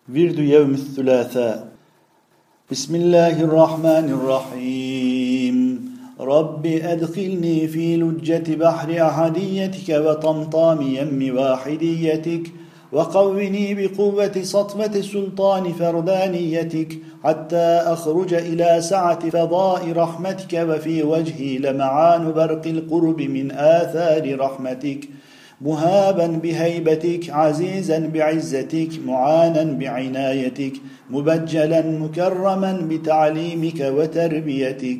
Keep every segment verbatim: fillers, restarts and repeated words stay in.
ورد يوم الثلاثاء. بسم الله الرحمن الرحيم. رب أدخلني في لجة بحر أحديتك وطمطام يم واحديتك، وقوني بقوة سطوة سلطان فردانيتك، حتى أخرج إلى سعة فضاء رحمتك، وفي وجهي لمعان برق القرب من آثار رحمتك، مهابا بهيبتك، عزيزا بعزتك، معانا بعنايتك، مبجلا مكرما بتعليمك وتربيتك.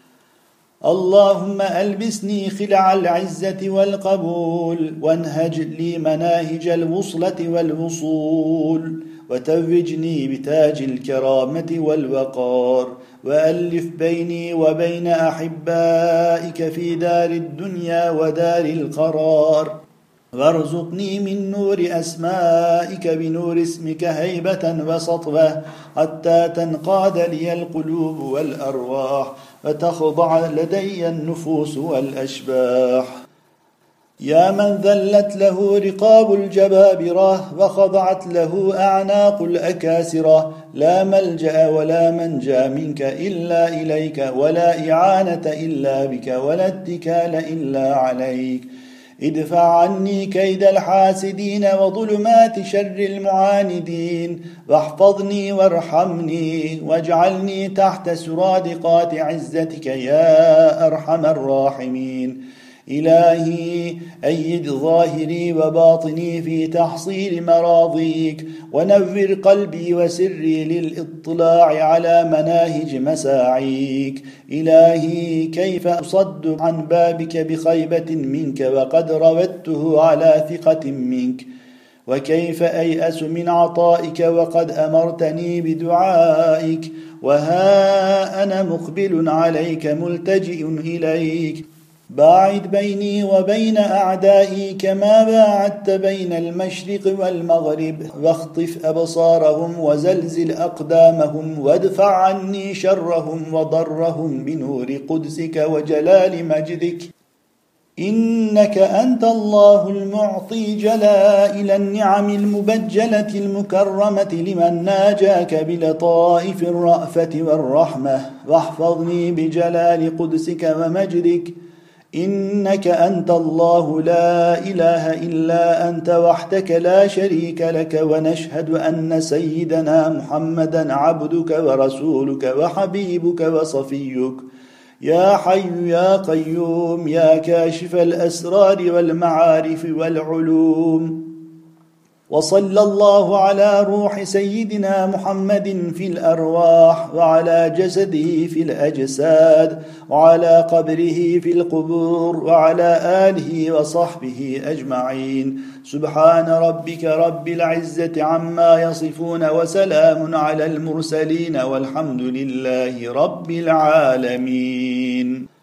اللهم ألبسني خلع العزة والقبول، وانهج لي مناهج الوصلة والوصول، وتوجني بتاج الكرامة والوقار، وألف بيني وبين أحبائك في دار الدنيا ودار القرار، وارزقني من نور أسمائك بنور اسمك هيبة وسطوة، حتى تنقاد لي القلوب والأرواح، وتخضع لدي النفوس والأشباح. يا من ذلت له رقاب الجبابرة، وخضعت له أعناق الأكاسرة، لا ملجأ ولا منجا منك إلا إليك، ولا إعانة إلا بك، ولا اتكال إلا عليك. ادفع عني كيد الحاسدين وظلمات شر المعاندين، واحفظني وارحمني، واجعلني تحت سرادقات عزتك يا أرحم الراحمين. إلهي أيد ظاهري وباطني في تحصيل مراضيك، ونور قلبي وسري للإطلاع على مناهج مساعيك. إلهي كيف أصد عن بابك بخيبة منك وقد روته على ثقة منك، وكيف أيأس من عطائك وقد أمرتني بدعائك، وها أنا مقبل عليك ملتجئ إليك. باعد بيني وبين أعدائي كما باعدت بين المشرق والمغرب، واخطف أبصارهم وزلزل أقدامهم، وادفع عني شرهم وضرهم بنور قدسك وجلال مجدك. إنك أنت الله المعطي جلائل النعم المبجلة المكرمة لمن ناجاك بلطائف الرأفة والرحمة، واحفظني بجلال قدسك ومجدك. إنك أنت الله لا إله إلا أنت وحدك لا شريك لك، ونشهد أن سيدنا محمدا عبدك ورسولك وحبيبك وصفيك. يا حي يا قيوم يا كاشف الأسرار والمعارف والعلوم. وصلى الله على روح سيدنا محمد في الأرواح، وعلى جسده في الأجساد، وعلى قبره في القبور، وعلى آله وصحبه أجمعين. سبحان ربك رب العزة عما يصفون، وسلام على المرسلين، والحمد لله رب العالمين.